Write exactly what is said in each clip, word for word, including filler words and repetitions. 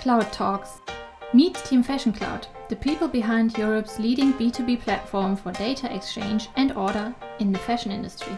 Cloud Talks. Meet Team Fashion Cloud, the people behind Europe's leading B two B platform for data exchange and order in the fashion industry.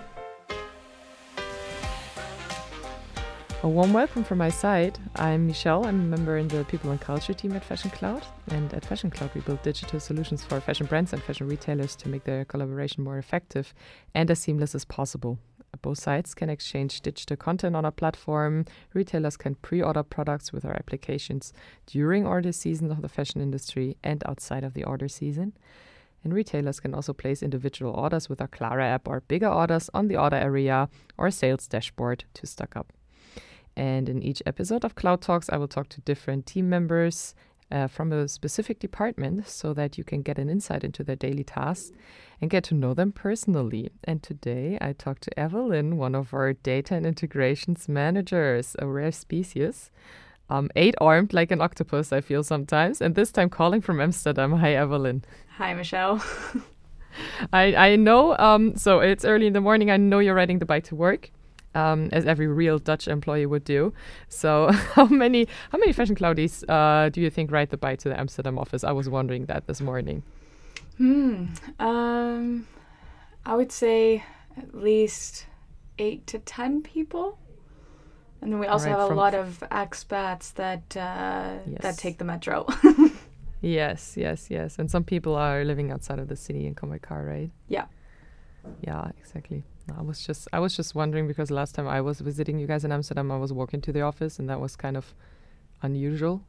A warm welcome from my side. I'm Michelle. I'm a member in the People and Culture team at Fashion Cloud. And at Fashion Cloud, we build digital solutions for fashion brands and fashion retailers to make their collaboration more effective and as seamless as possible. Both sides can exchange digital content on our platform. Retailers can pre-order products with our applications during order season of the fashion industry and outside of the order season. And retailers can also place individual orders with our Clara app or bigger orders on the order area or sales dashboard to stock up. And in each episode of Cloud Talks, I will talk to different team members uh, from a specific department so that you can get an insight into their daily tasks and get to know them personally. And today I talked to Evelyn, one of our data and integrations managers, a rare species, um, eight-armed like an octopus, I feel sometimes, and this time calling from Amsterdam. Hi, Evelyn. Hi, Michelle. I, I know, um, so it's early in the morning. I know you're riding the bike to work. Um, as every real Dutch employee would do. So how many how many fashion cloudies uh, do you think ride the bike to the Amsterdam office? I was wondering that this morning. Hmm. Um, I would say at least eight to ten people. And then we also right, have a from lot of expats that uh, yes. that take the metro. yes, yes, yes. And some people are living outside of the city and come by car, right? Yeah. Yeah, exactly. I was just I was just wondering because last time I was visiting you guys in Amsterdam, I was walking to the office and that was kind of unusual.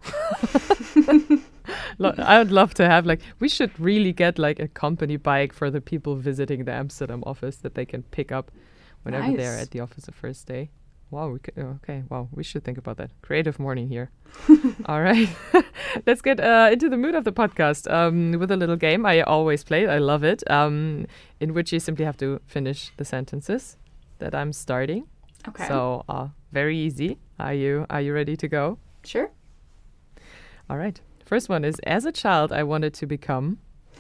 Lo- I would love to have like we should really get like a company bike for the people visiting the Amsterdam office that they can pick up whenever Nice. they're at the office the first day. Wow, we c- okay, wow, we should think about that. Creative morning here. All right, let's get uh, into the mood of the podcast um, with a little game I always play. I love it, um, in which you simply have to finish the sentences that I'm starting. Okay. So uh, very easy. Are you Are you ready to go? Sure. All right. First one is: as a child, I wanted to become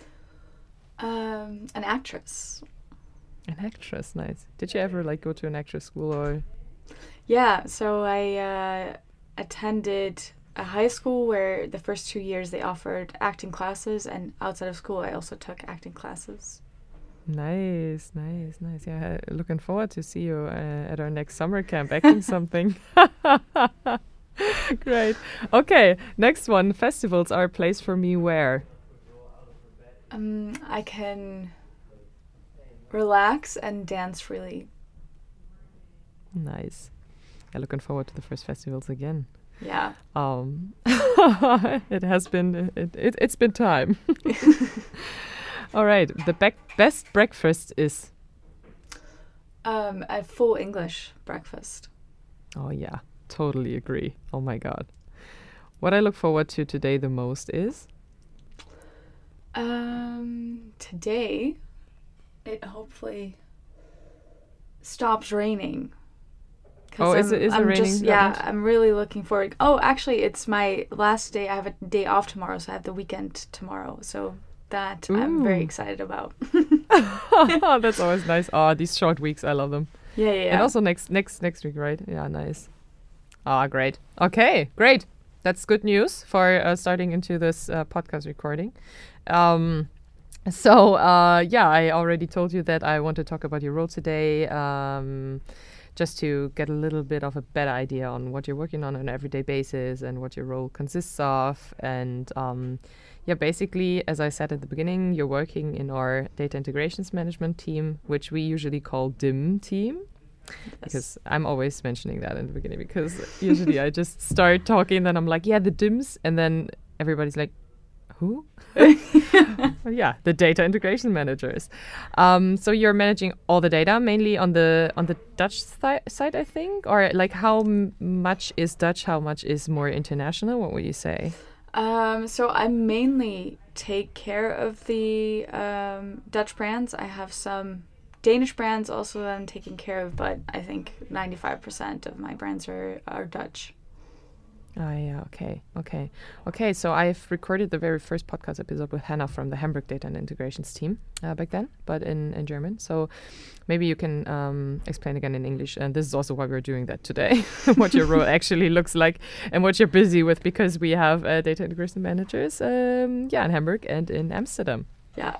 Um, an actress. an actress. Nice. Did you ever like go to an actress school or? Yeah. So I uh, attended a high school where the first two years they offered acting classes, and outside of school I also took acting classes. Nice, nice, nice. Yeah, uh, looking forward to see you uh, at our next summer camp acting something. Great. Okay, next one. Festivals are a place for me where? Um, I can relax and dance freely. Nice. Yeah, looking forward to the first festivals again. Yeah. Um, it has been it, it it's been time. All right. The bec- best breakfast is. Um, a full English breakfast. Oh yeah, totally agree. Oh my god. What I look forward to today the most is. Um, today, it hopefully stops raining. 'Cause Oh, is I'm- it- is it I'm raining just- that yeah, much? I'm really looking forward. Oh, actually, it's my last day. I have a day off tomorrow, so I have the weekend tomorrow. So that I'm very Ooh. excited about. That's always nice. Oh, these short weeks, I love them. Yeah, yeah, yeah. And also next next next week, right? Yeah, nice. Ah, great. Okay, great. That's good news for uh, starting into this uh, podcast recording. Um, so uh, yeah, I already told you that I want to talk about your role today. Um, just to get a little bit of a better idea on what you're working on on an everyday basis and what your role consists of. And um, yeah, basically, as I said at the beginning, you're working in our data integrations management team, which we usually call D I M team. Because I'm always mentioning that in the beginning because usually I just start talking, then I'm like, yeah, the D I Ms. And then everybody's like, who? Well, yeah, the data integration managers. Um, so you're managing all the data mainly on the on the Dutch thi- side, I think, or like how m- much is Dutch, how much is more international? What would you say? Um, so I mainly take care of the um, Dutch brands. I have some Danish brands also that I'm taking care of, but I think ninety-five percent of my brands are, are Dutch. Ah, yeah. Okay. Okay. Okay. So I've recorded the very first podcast episode with Hannah from the Hamburg Data and Integrations team uh, back then, but in, in German. So maybe you can um, explain again in English. And this is also why we're doing that today, what your role actually looks like and what you're busy with, because we have uh, data integration managers, um, yeah, in Hamburg and in Amsterdam. Yeah.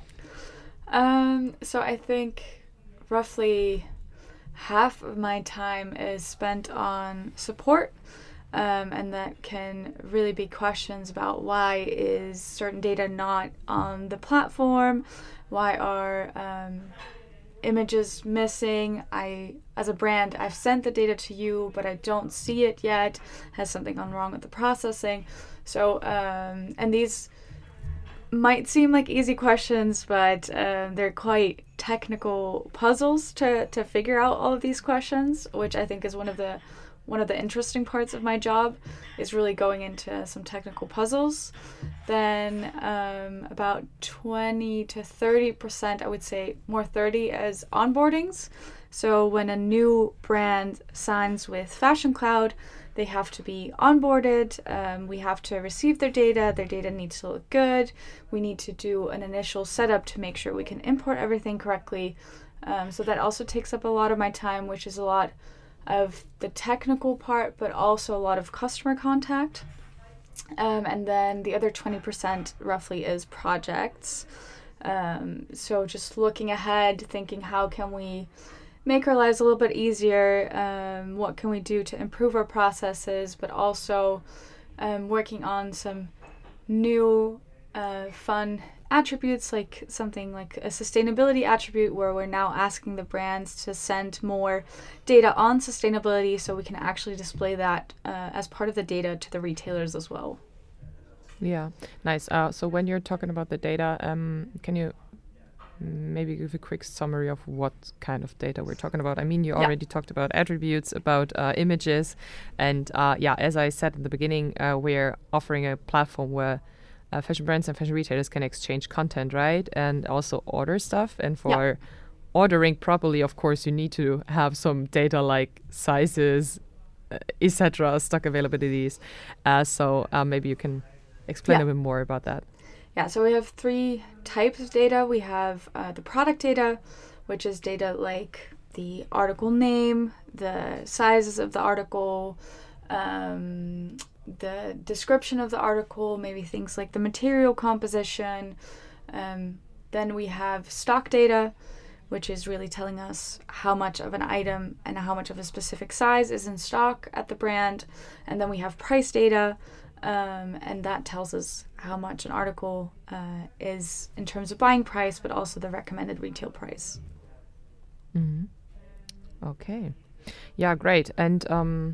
Um, so I think roughly half of my time is spent on support. Um, and that can really be questions about why is certain data not on the platform, why are um, images missing. I, as a brand, I've sent the data to you, but I don't see it yet. Has something gone wrong with the processing? So, um, and these might seem like easy questions, but uh, they're quite technical puzzles to, to figure out all of these questions, which I think is one of the One of the interesting parts of my job is really going into some technical puzzles. Then um, about twenty to thirty percent, I would say more thirty, as onboardings. So when a new brand signs with Fashion Cloud, they have to be onboarded. Um, we have to receive their data. Their data needs to look good. We need to do an initial setup to make sure we can import everything correctly. Um, so that also takes up a lot of my time, which is a lot of the technical part, but also a lot of customer contact. Um, and then the other twenty percent roughly is projects. Um, so just looking ahead, thinking how can we make our lives a little bit easier, um, what can we do to improve our processes, but also um, working on some new uh, fun attributes, like something like a sustainability attribute where we're now asking the brands to send more data on sustainability so we can actually display that uh, as part of the data to the retailers as well. Yeah, nice. Uh, so when you're talking about the data, um, can you maybe give a quick summary of what kind of data we're talking about? I mean, you Yeah. already talked about attributes, about uh, images, and uh, yeah, as I said in the beginning, uh, we're offering a platform where Uh, fashion brands and fashion retailers can exchange content, right? And also order stuff. And for Yeah. ordering properly, of course, you need to have some data like sizes, uh, et cetera, stock availabilities. Uh, so uh, maybe you can explain Yeah. a bit more about that. Yeah, so we have three types of data. We have uh, the product data, which is data like the article name, the sizes of the article, um, the description of the article, maybe things like the material composition. Um, then we have stock data, which is really telling us how much of an item and how much of a specific size is in stock at the brand. And then we have price data, um, and that tells us how much an article uh, is in terms of buying price, but also the recommended retail price. Mm-hmm. Okay. Yeah, great. And um,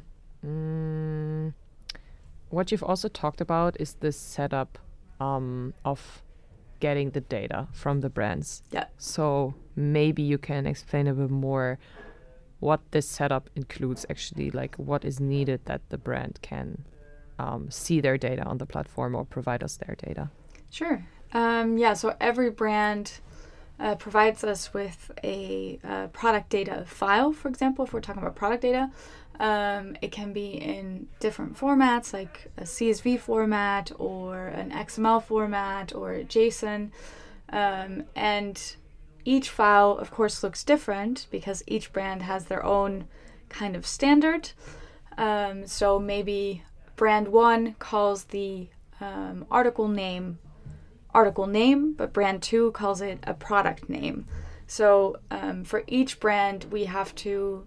mm, what you've also talked about is the setup um, of getting the data from the brands. Yeah. So maybe you can explain a bit more what this setup includes actually, like what is needed that the brand can um, see their data on the platform or provide us their data. Sure. Um, yeah, so every brand uh, provides us with a uh, product data file, for example, if we're talking about product data. Um, it can be in different formats, like a C S V format or an X M L format or a JSON. Um, and each file, of course, looks different because each brand has their own kind of standard. Um, so maybe brand one calls the um, article name article name, but brand two calls it a product name. So um, for each brand, we have to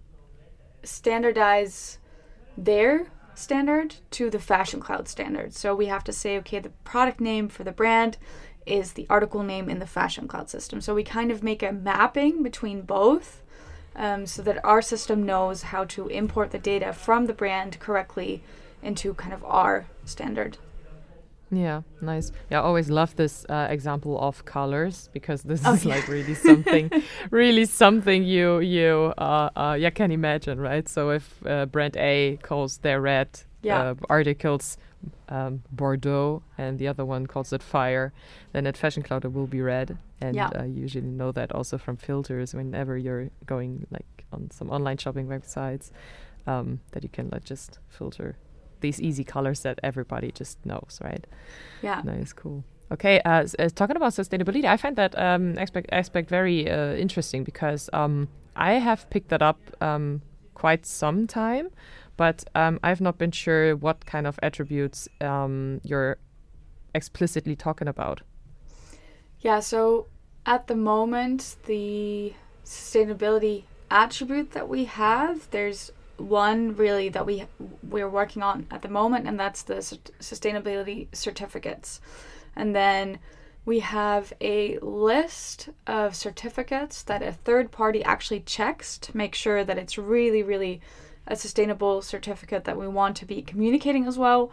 standardize their standard to the Fashion Cloud standard. So we have to say, okay, the product name for the brand is the article name in the Fashion Cloud system. So we kind of make a mapping between both um, so that our system knows how to import the data from the brand correctly into kind of our standard. Yeah, nice. Yeah, I always love this uh, example of colors because this Oh, is yeah. like really something, really something you you uh, uh yeah can imagine, right? So if uh, brand A calls their red Yeah. uh, articles um, Bordeaux and the other one calls it fire, then at Fashion Cloud it will be red. And Yeah. uh, you usually know that also from filters whenever you're going like on some online shopping websites, um, that you can like just filter these easy colors that everybody just knows, right? Yeah. Nice, cool. Okay, uh, s- uh, talking about sustainability, I find that um, aspect aspect very uh, interesting because um, I have picked that up um, quite some time, but um, I've not been sure what kind of attributes um, you're explicitly talking about. Yeah, so at the moment, the sustainability attribute that we have, there's one really that we we're working on at the moment, and that's the sus- sustainability certificates. And then we have a list of certificates that a third party actually checks to make sure that it's really, really a sustainable certificate that we want to be communicating as well.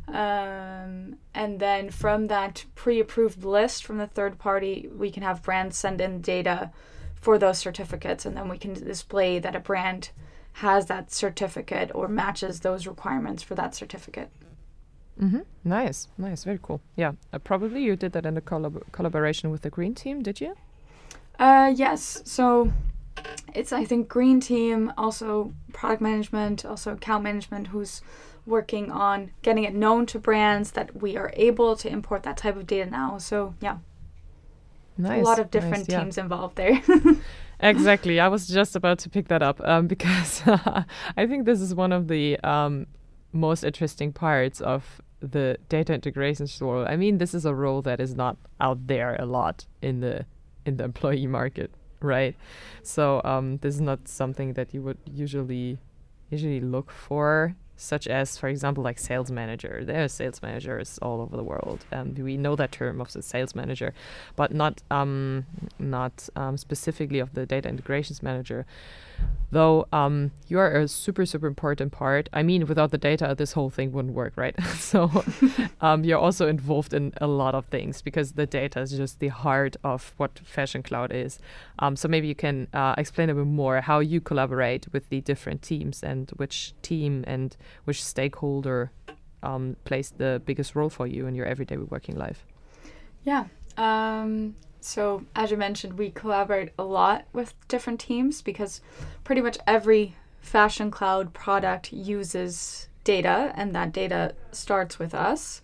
Um, and then from that pre-approved list from the third party, we can have brands send in data for those certificates, and then we can display that a brand has that certificate or matches those requirements for that certificate. Mm-hmm. Nice, nice, very cool. Yeah, uh, probably you did that in a collab- collaboration with the Green Team, did you? Uh, yes. So it's, I think, Green Team, also product management, also account management, who's working on getting it known to brands that we are able to import that type of data now. So yeah, Nice. a lot of different nice, yeah. teams involved there. Exactly. I was just about to pick that up um, because I think this is one of the um, most interesting parts of the data integrations role. I mean, this is a role that is not out there a lot in the in the employee market, right? So um, this is not something that you would usually usually look for, such as, for example, like sales manager. There are sales managers all over the world, and we know that term of the sales manager, but not um, not um, specifically of the data integrations manager. Though um, you are a super, super important part. I mean, without the data, this whole thing wouldn't work, right? So um, you're also involved in a lot of things because the data is just the heart of what Fashion Cloud is. Um, so maybe you can uh, explain a bit more how you collaborate with the different teams and which team and which stakeholder um, plays the biggest role for you in your everyday working life. Yeah. Um, so as you mentioned, we collaborate a lot with different teams because pretty much every Fashion Cloud product uses data, and that data starts with us.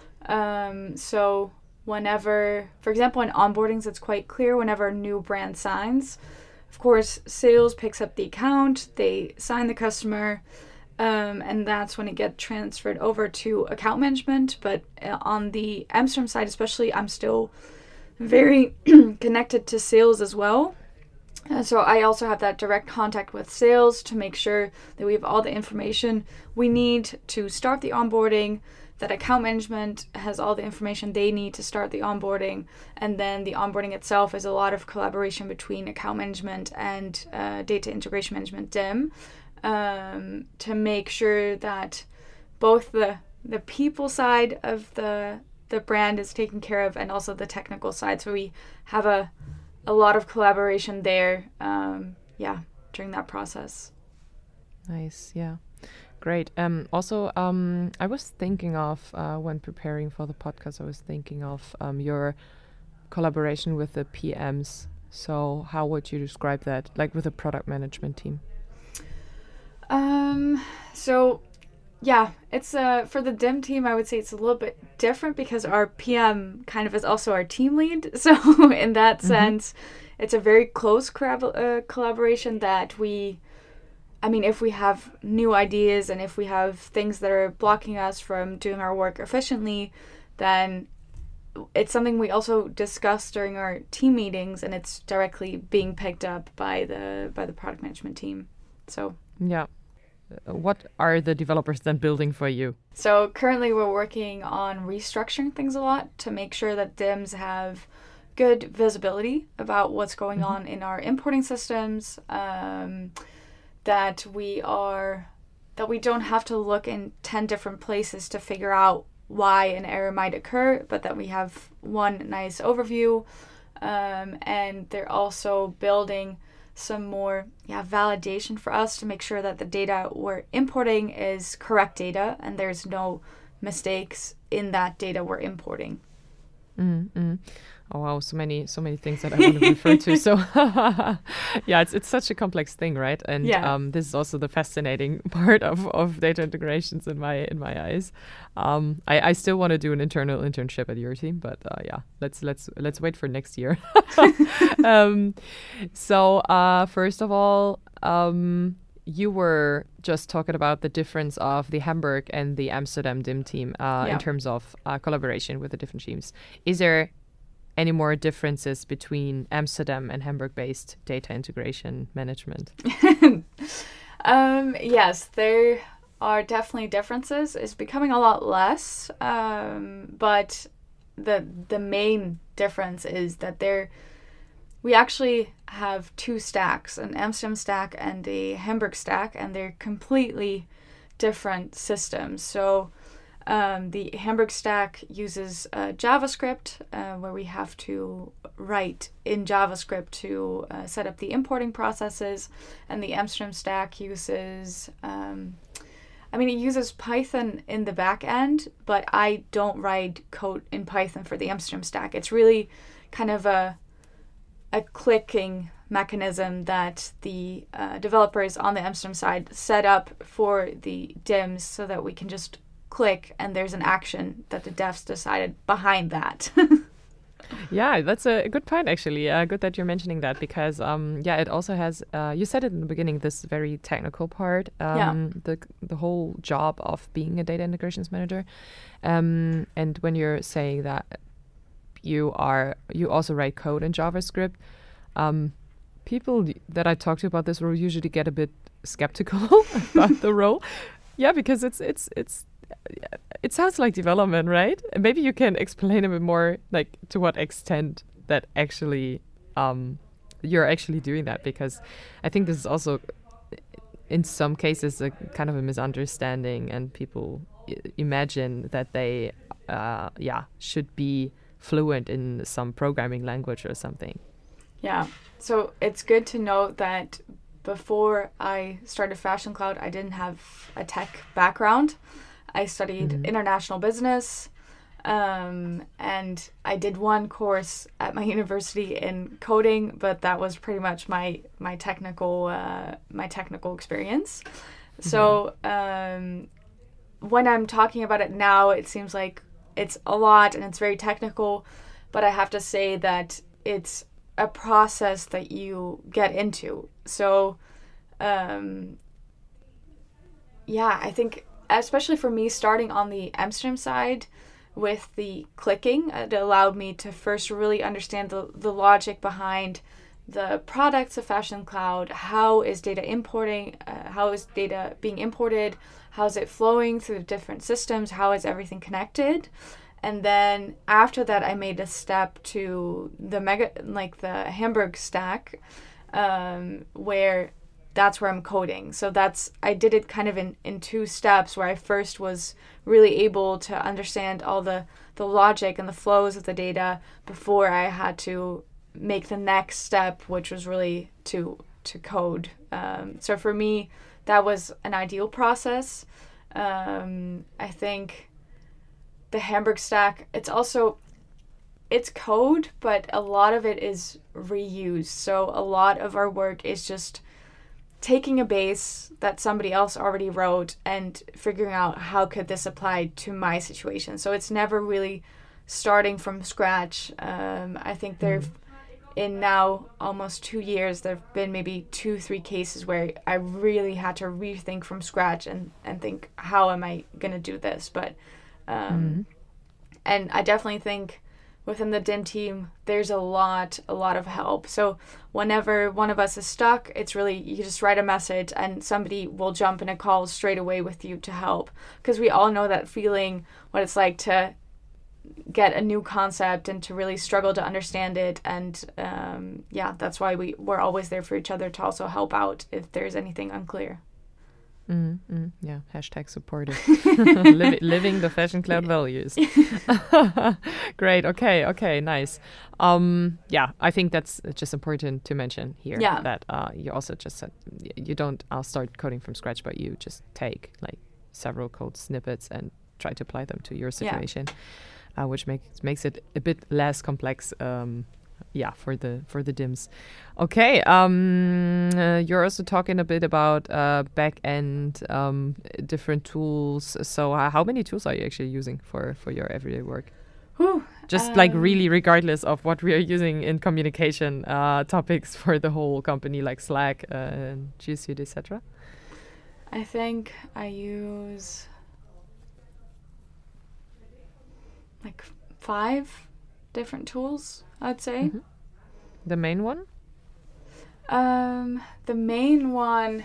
Um, so whenever, for example, in onboardings, it's quite clear whenever a new brand signs, of course, sales picks up the account, they sign the customer, Um, and that's when it gets transferred over to account management. But uh, on the Amsterdam side especially, I'm still very connected to sales as well. Uh, so I also have that direct contact with sales to make sure that we have all the information we need to start the onboarding, that account management has all the information they need to start the onboarding, and then the onboarding itself is a lot of collaboration between account management and uh, data integration management, D I M. Um, to make sure that both the the people side of the the brand is taken care of and also the technical side. So we have a a lot of collaboration there. Um, yeah, during that process. Nice, yeah, great. Um, also, um, I was thinking of uh, when preparing for the podcast, I was thinking of um, your collaboration with the P Ms. So how would you describe that, like with the product management team? Um, so yeah, it's uh for the D I M team, I would say it's a little bit different because our P M kind of is also our team lead. So in that Mm-hmm. sense, it's a very close corab- uh, collaboration that we, I mean, if we have new ideas and if we have things that are blocking us from doing our work efficiently, then it's something we also discuss during our team meetings, and it's directly being picked up by the by the product management team. So Yeah. Uh, what are the developers then building for you? So currently we're working on restructuring things a lot to make sure that D I Ms have good visibility about what's going Mhm. on in our importing systems, um, that we are that we don't have to look in ten different places to figure out why an error might occur, but that we have one nice overview. Um, and they're also building some more yeah validation for us to make sure that the data we're importing is correct data and there's no mistakes in that data we're importing. Mm-hmm. Oh wow, so many so many things that I want to refer to. So yeah, it's it's such a complex thing, right? And Yeah. um, this is also the fascinating part of, of data integrations in my in my eyes. Um, I, I still want to do an internal internship at your team, but uh, yeah, let's let's let's wait for next year. um, so uh, first of all, um, you were just talking about the difference of the Hamburg and the Amsterdam D I M team uh, Yeah. in terms of uh, collaboration with the different teams. Is there any more differences between Amsterdam and Hamburg-based data integration management? um, yes, there are definitely differences. It's becoming a lot less, um, but the the main difference is that there we actually have two stacks, an Amsterdam stack and a Hamburg stack, and they're completely different systems. So Um, the Hamburg stack uses uh, JavaScript, uh, where we have to write in JavaScript to uh, set up the importing processes, and the Amsterdam stack uses, um, I mean, it uses Python in the back end, but I don't write code in Python for the Amsterdam stack. It's really kind of a a clicking mechanism that the uh, developers on the Amsterdam side set up for the D I Ms so that we can just click and there's an action that the devs decided behind that. Yeah, that's a good point, actually. Uh, good that you're mentioning that because, um, yeah, it also has, uh, you said it in the beginning, this very technical part, um, Yeah. the the whole job of being a data integrations manager. Um, and when you're saying that you are, you also write code in JavaScript, um, people that I talk to about this role usually get a bit skeptical about the role. Yeah, because it's, it's, it's, it sounds like development, right? And maybe you can explain a bit more, like to what extent that actually um, you're actually doing that, because I think this is also, in some cases, a kind of a misunderstanding, and people I- imagine that they, uh, yeah, should be fluent in some programming language or something. Yeah, so it's good to note that before I started Fashion Cloud, I didn't have a tech background. I studied Mhm. international business, um, and I did one course at my university in coding, but that was pretty much my my technical uh, my technical experience. So um, when I'm talking about it now, it seems like it's a lot and it's very technical, but I have to say that it's a process that you get into. So um, yeah, I think especially for me, starting on the Amsterdam side with the clicking, it allowed me to first really understand the, the logic behind the products of Fashion Cloud. How is data importing? Uh, how is data being imported? How is it flowing through the different systems? How is everything connected? And then after that, I made a step to the mega, like the Hamburg stack, um, where that's where I'm coding. So that's, I did it kind of in, in two steps, where I first was really able to understand all the, the logic and the flows of the data before I had to make the next step, which was really to to code. Um, so for me, that was an ideal process. Um, I think the Hamburg stack, it's also, it's code, but a lot of it is reused. So a lot of our work is just taking a base that somebody else already wrote and figuring out how could this apply to my situation. So it's never really starting from scratch. Um, I think there, mm. in now almost two years, there have been maybe two, three cases where I really had to rethink from scratch and, and think, how am I going to do this? But, um, mm. and I definitely think within the D I M team, there's a lot, a lot of help. So whenever one of us is stuck, it's really, you just write a message and somebody will jump in a call straight away with you to help. Because we all know that feeling, what it's like to get a new concept and to really struggle to understand it. And um, yeah, that's why we, we're always there for each other to also help out if there's anything unclear. Mm, mm, yeah, hashtag supportive. Liv- living the Fashion Cloud values. Great. Okay. Okay. Nice. Um, yeah, I think that's just important to mention here. Yeah. That uh, you also just said you don't uh, start coding from scratch, but you just take like several code snippets and try to apply them to your situation. Yeah. uh, which makes makes it a bit less complex. Um, yeah, for the for the D I Ms. Okay, um, uh, you're also talking a bit about uh, back end um, different tools. So uh, how many tools are you actually using for for your everyday work? Whew, Just um, like really regardless of what we are using in communication uh, topics for the whole company, like Slack, uh, G Suite, et cetera. I think I use like five different tools, I'd say. Mm-hmm. The main one? Um, the main one,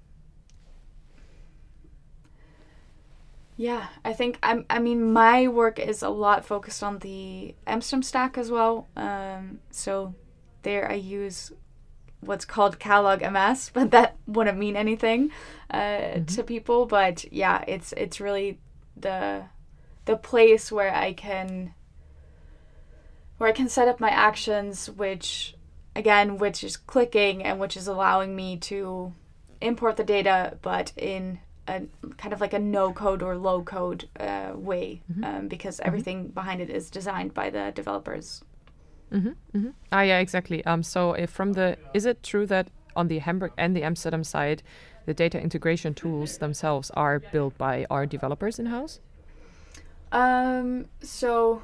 yeah, I think I'm. I mean, my work is a lot focused on the Amsterdam stack as well. Um, so there I use what's called Catalog M S, but that wouldn't mean anything uh, mm-hmm. to people. But yeah, it's it's really the the place where I can where I can set up my actions, which again, which is clicking and which is allowing me to import the data, but in a kind of like a no code or low code uh, way, mm-hmm. um, because everything mm-hmm. behind it is designed by the developers. Mm-hmm, mm-hmm. Ah, yeah, exactly. Um, so if from the, is it true that on the Hamburg and the Amsterdam side, the data integration tools themselves are built by our developers in-house? Um, so,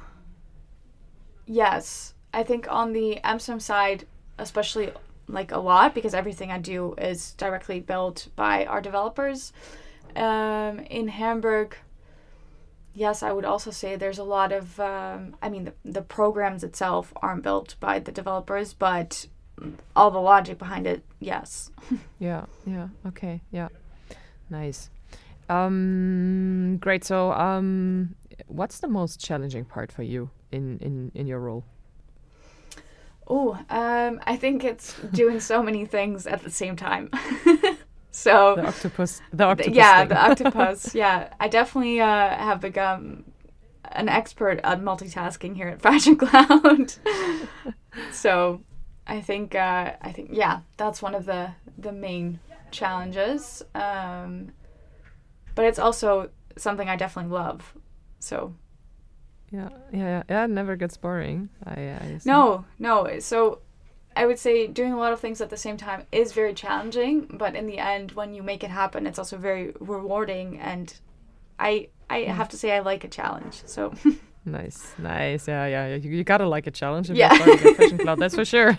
yes. I think on the Amsterdam side, especially like a lot, because everything I do is directly built by our developers. Um, in Hamburg, yes, I would also say there's a lot of, um, I mean, the, the programs itself aren't built by the developers, but all the logic behind it, yes. yeah, yeah, okay, yeah, nice. Um, great, so um, what's the most challenging part for you in, in, in your role? Oh, um, I think it's doing so many things at the same time. So the octopus, the octopus. Yeah, thing. the octopus. Yeah, I definitely uh, have become an expert at multitasking here at Fashion Cloud. So I think, uh, I think, yeah, that's one of the the main challenges. Um, but it's also something I definitely love. So. Yeah, yeah, yeah, yeah. It never gets boring. I, I no, no. So I would say doing a lot of things at the same time is very challenging, but in the end, when you make it happen, it's also very rewarding. And I, I yeah. have to say, I like a challenge. So nice, nice. Yeah, yeah. You, you gotta like a challenge if yeah. you're starting a Fashion Cloud. That's for sure.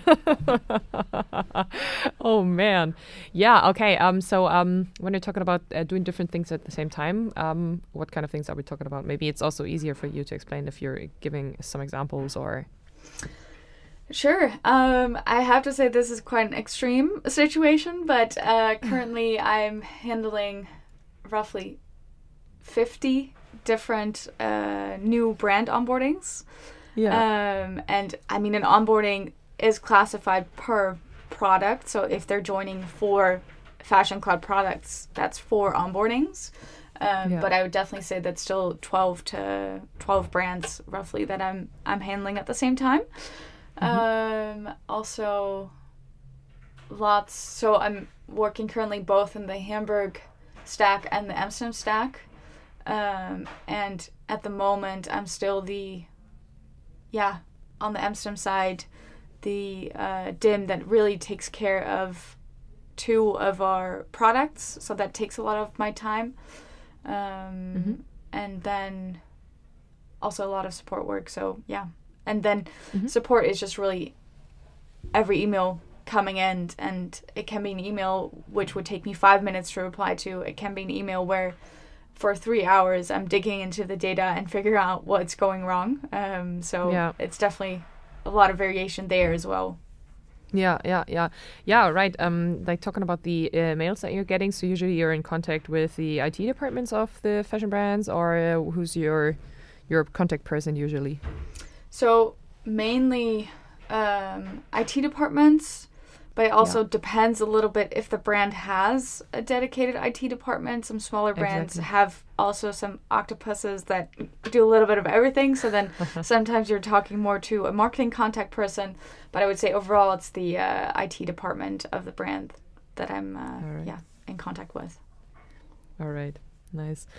Oh man, yeah. Okay. Um. So um, when you're talking about uh, doing different things at the same time, um, what kind of things are we talking about? Maybe it's also easier for you to explain if you're giving some examples or. Sure. Um, I have to say this is quite an extreme situation, but uh, currently I'm handling roughly fifty different uh, new brand onboardings. Yeah. Um, and I mean, an onboarding is classified per product. So if they're joining four Fashion Cloud products, that's four onboardings. Um, yeah. But I would definitely say that's still twelve to twelve brands roughly that I'm I'm handling at the same time. Mm-hmm. Um, also, lots. So I'm working currently both in the Hamburg stack and the Amsterdam stack. Um, and at the moment, I'm still the, yeah, on the Amsterdam side, the uh, D I M that really takes care of two of our products. So that takes a lot of my time. Um, mm-hmm. And then also a lot of support work. So, yeah. And then mm-hmm. support is just really every email coming in, and it can be an email which would take me five minutes to reply to. It can be an email where for three hours I'm digging into the data and figuring out what's going wrong. Um, so yeah. It's definitely a lot of variation there as well. Yeah, yeah, yeah. Yeah, right. Um, like talking about the uh, mails that you're getting, so usually you're in contact with the I T departments of the fashion brands, or uh, who's your your contact person usually? So mainly um, I T departments, but it also yeah. depends a little bit if the brand has a dedicated I T department. Some smaller brands exactly. have also some octopuses that do a little bit of everything. So then sometimes you're talking more to a marketing contact person. But I would say overall it's the uh, I T department of the brand that I'm uh, right. yeah in contact with. All right. Nice.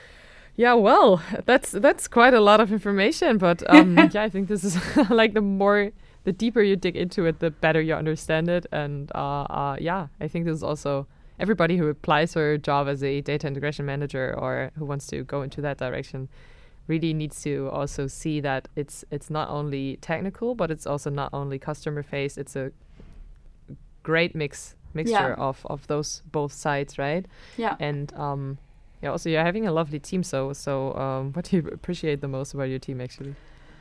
Yeah, well, that's that's quite a lot of information, but um, yeah, I think this is like the more, the deeper you dig into it, the better you understand it, and uh, uh, yeah, I think this is also everybody who applies for a job as a data integration manager or who wants to go into that direction really needs to also see that it's it's not only technical, but it's also not only customer face. It's a great mix mixture Yeah. of of those both sides, right? Yeah. And um, yeah, also you're having a lovely team. So so um, what do you appreciate the most about your team actually?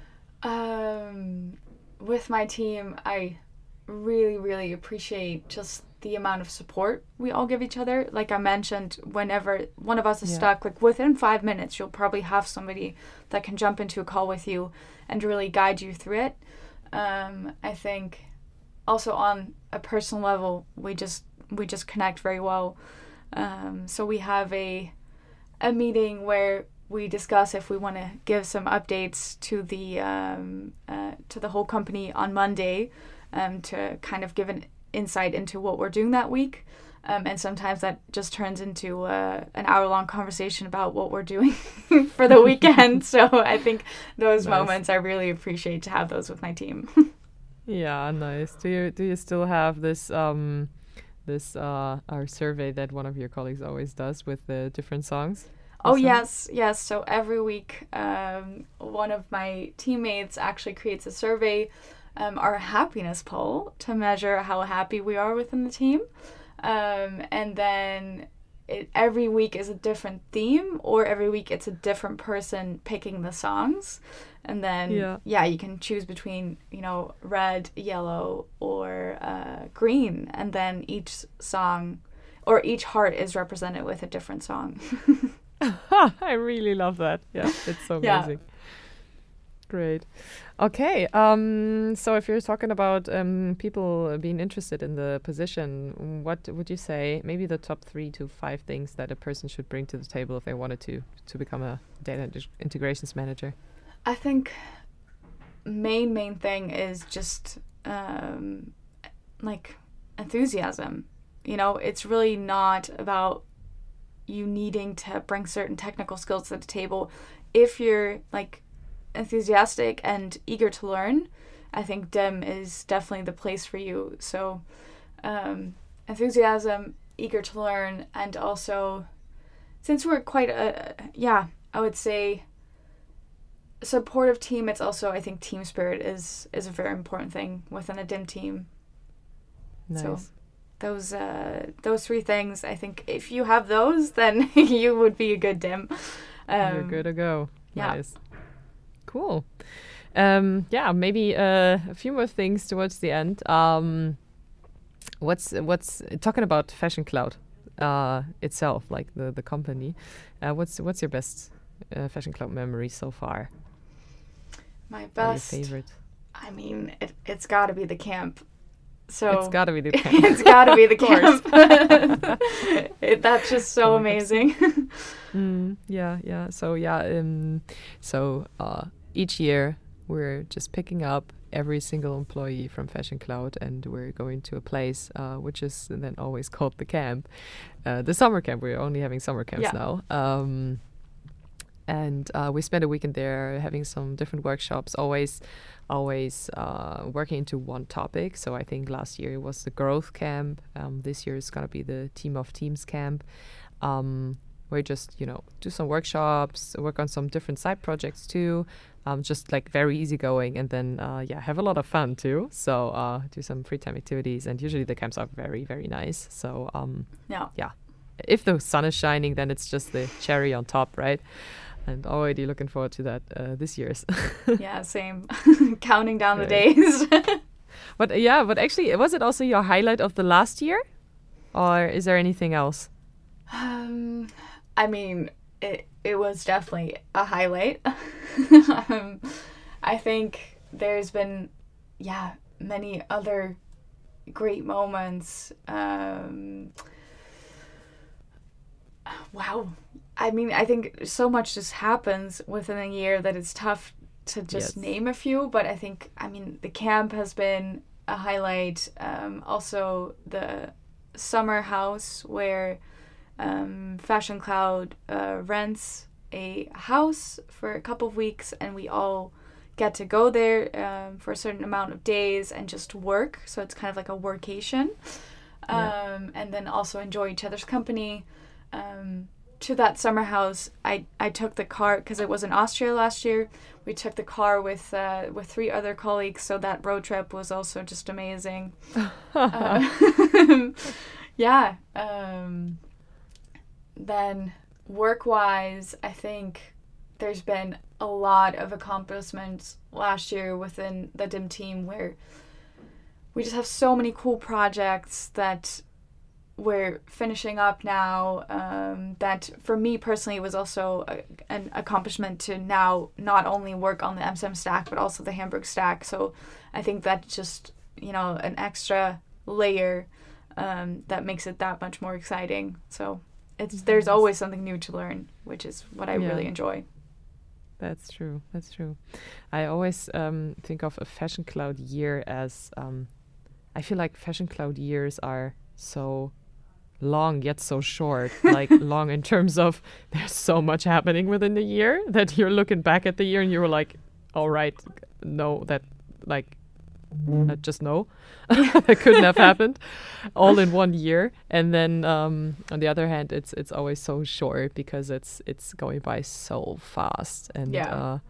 Um, with my team, I really, really appreciate just the amount of support we all give each other. Like I mentioned, whenever one of us is Yeah. stuck, like within five minutes, you'll probably have somebody that can jump into a call with you and really guide you through it. Um, I think also on a personal level, we just we just connect very well. Um, so we have a a meeting where we discuss if we want to give some updates to the um, uh, to the whole company on Monday, um, to kind of give an insight into what we're doing that week. Um, and sometimes that just turns into uh, an hour-long conversation about what we're doing for the weekend. So I think those Nice. moments I really appreciate to have those with my team. Yeah, nice. Do you do you still have this um this uh our survey that one of your colleagues always does with the different songs? Oh, Also? yes, yes. So every week, um, one of my teammates actually creates a survey, um, our happiness poll, to measure how happy we are within the team. Um, and then it, every week is a different theme, or every week it's a different person picking the songs. And then, Yeah. yeah, you can choose between, you know, red, yellow, or uh, green. And then each song, or each heart is represented with a different song. I really love that. Yeah, it's so Yeah. amazing. Great. Okay. Um, so if you're talking about um, people being interested in the position, what would you say? Maybe the top three to five things that a person should bring to the table if they wanted to to become a data int- integrations manager. I think main main thing is just um, like enthusiasm. You know, it's really not about you needing to bring certain technical skills to the table. If you're like enthusiastic and eager to learn, I think D I M is definitely the place for you. So um, enthusiasm, eager to learn, and also since we're quite a, yeah, I would say supportive team, it's also, I think team spirit is is a very important thing within a D I M team. Nice. So those uh, those three things, I think if you have those, then you would be a good D I M. Um, You're good to go. yeah. Nice. Cool. Um, yeah, maybe uh, a few more things towards the end. Um, what's what's talking about Fashion Cloud uh, itself, like the the company? Uh, what's what's your best uh, Fashion Cloud memory so far? My Or best, your favorite? I mean, it, it's got to be the camp. So It's got to be the camp. it's got to be the Of course. camp. it, that's just so Oh my God. amazing. Mm, yeah, yeah. So yeah, um, so uh, each year we're just picking up every single employee from Fashion Cloud, and we're going to a place uh, which is then always called the camp, uh, the summer camp. We're only having summer camps Yeah. now. Um, and uh, we spent a weekend there having some different workshops, always always uh, working into one topic. So I think last year it was the growth camp. Um, this year is going to be the team of teams camp. Um, where just, you know, do some workshops, work on some different side projects too, um, just like very easygoing, and then, uh, yeah, have a lot of fun too. So uh, do some free time activities, and usually the camps are very, very nice. So um, Yeah. yeah, if the sun is shining, then it's just the cherry on top, right? And already looking forward to that uh, this year's. Yeah, same. Counting down the Right. days. But uh, yeah, but actually, was it also your highlight of the last year, or is there anything else? Um, I mean, it it was definitely a highlight. um, I think there's been, yeah, many other great moments. Um, wow. I mean, I think so much just happens within a year that it's tough to just Yes. name a few. But I think, I mean, the camp has been a highlight. Um, also, the summer house where um, Fashion Cloud uh, rents a house for a couple of weeks, and we all get to go there um, for a certain amount of days and just work. So it's kind of like a workation. Yeah. Um, and then also enjoy each other's company. Um, to that summer house, I, I took the car, because it was in Austria last year. We took the car with uh, with three other colleagues, so that road trip was also just amazing. uh, yeah. Um, then work-wise, I think there's been a lot of accomplishments last year within the D I M team, where we just have so many cool projects that we're finishing up now, um, that for me personally was also a, an accomplishment to now not only work on the M S M stack but also the Hamburg stack. So I think that's just, you know, an extra layer um, that makes it that much more exciting. So it's mm-hmm. there's always something new to learn, which is what I yeah. really enjoy. That's true. That's true. I always um, think of a Fashion Cloud year as um, I feel like Fashion Cloud years are so long yet so short. Like long in terms of there's so much happening within the year that you're looking back at the year and you're like, all right, no, that like uh, just no, that couldn't have happened all in one year. And then um, on the other hand, it's it's always so short because it's it's going by so fast. And yeah, uh,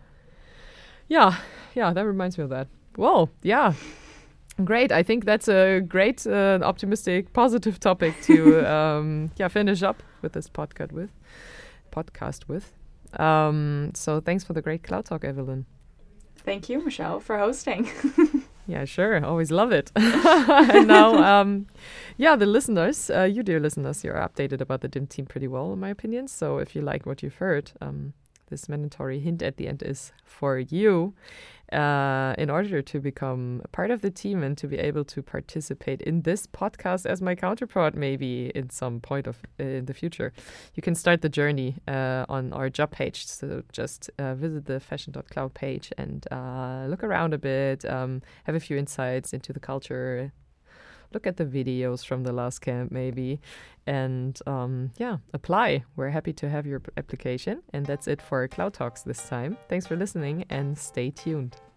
yeah, yeah, that reminds me of that. Well, yeah. Great. I think that's a great, uh, optimistic, positive topic to um, yeah finish up with this podcast with. Podcast with. Um, so thanks for the great cloud talk, Evelyn. Thank you, Michelle, for hosting. Yeah, sure. Always love it. And now, um, yeah, the listeners, uh, you dear listeners, you're updated about the D I M team pretty well, in my opinion. So if you like what you've heard, um, this mandatory hint at the end is for you. Uh, in order to become a part of the team and to be able to participate in this podcast as my counterpart, maybe in some point of uh, in the future, you can start the journey uh, on our job page. So just uh, visit the fashion dot cloud page and uh, look around a bit, um, have a few insights into the culture, look at the videos from the last camp maybe, and um, yeah, apply. We're happy to have your application. And that's it for Cloud Talks this time. Thanks for listening and stay tuned.